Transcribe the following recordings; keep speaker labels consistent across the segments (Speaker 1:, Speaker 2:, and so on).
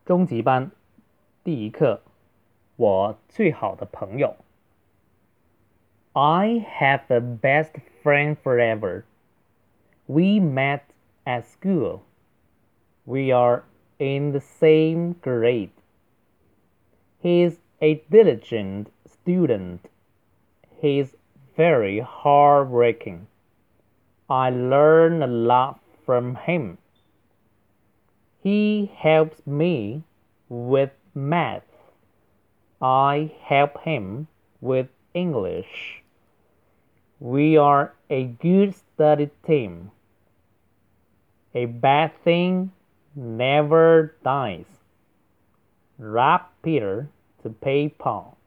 Speaker 1: 中级班第一课，我最好的朋友。I have the best friend forever. We met at school. We are in the same grade. He's a diligent student. He's very hardworking. I learn a lot from him. He helps me with math. I help him with English. We are a good study team. A bad thing never dies. Rob Peter to pay Paul.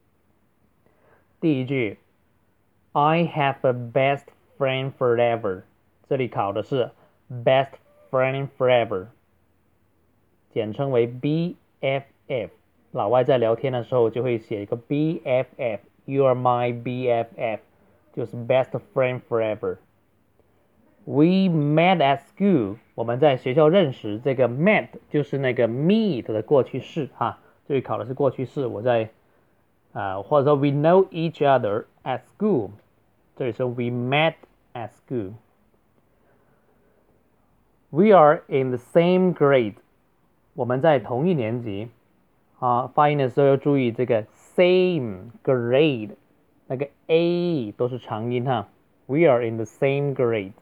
Speaker 1: 第一句 I have a best friend forever. 这里考的是 best friend forever. 简称为 BFF， 老外在聊天的时候就会写一个 BFF， You are my BFF， 就是 best friend forever。 We met at school， 我们在学校认识，这个 met 就是那个 meet 的过去式哈，这里考的是过去式，我在或者说 we know each other at school， 这里说 we met at school。 We are in the same grade，我们在同一年级发音的时候要注意这个 same grade， 那个 a 都是长音哈。We are in the same grade.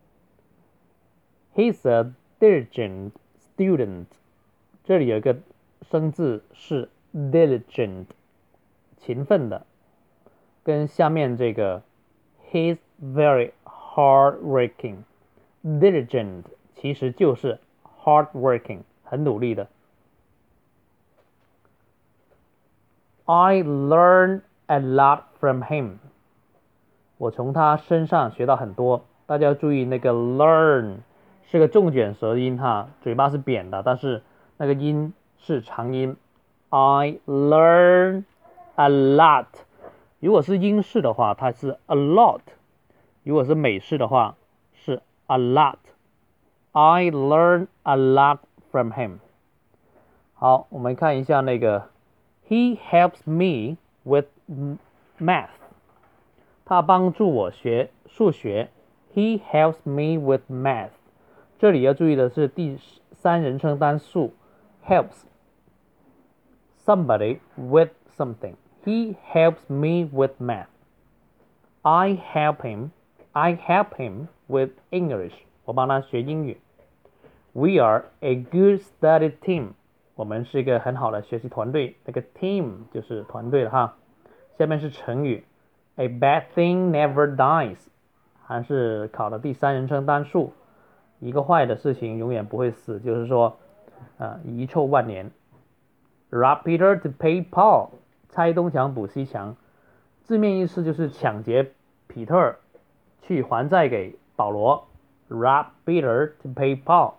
Speaker 1: He's a diligent student. 这里有一个生字是 diligent， 勤奋的，跟下面这个 he's very hardworking. Diligent 其实就是 hardworking，很努力的。I learn a lot from him. 我从他身上学到很多。大家要注意那个 learn 是个重卷舌音哈，嘴巴是扁的，但是那个音是长音。I learn a lot. 如果是英式的话，它是 a lot； 如果是美式的话，是 a lot. I learn a lot from him. 好，我们看一下那个 He helps me with math. 他帮助我学数学。He helps me with math. 这里要注意的是第三人称单数 helps somebody with something. He helps me with math. I help him with English. 我帮他学英语。We are a good study team. 我们是一个很好的学习团队，那个 team 就是团队了哈。下面是成语 A bad thing never dies， 还是考的第三人称单数，一个坏的事情永远不会死，就是说遗臭万年。Rob Peter to pay Paul， 拆东墙补西墙，字面意思就是抢劫彼特去还债给保罗。Rob Peter to pay Paul。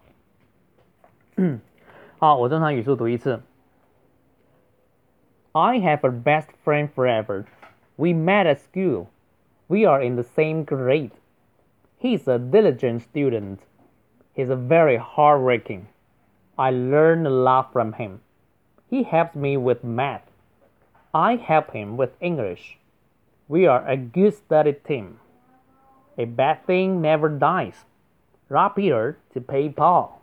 Speaker 1: 好，我正常语速读一次。I have a best friend forever. We met at school. We are in the same grade. He's a diligent student. He's very hardworking. I learn a lot from him. He helps me with math. I help him with English. We are a good study team. A bad thing never dies. Rob Peter to pay Paul.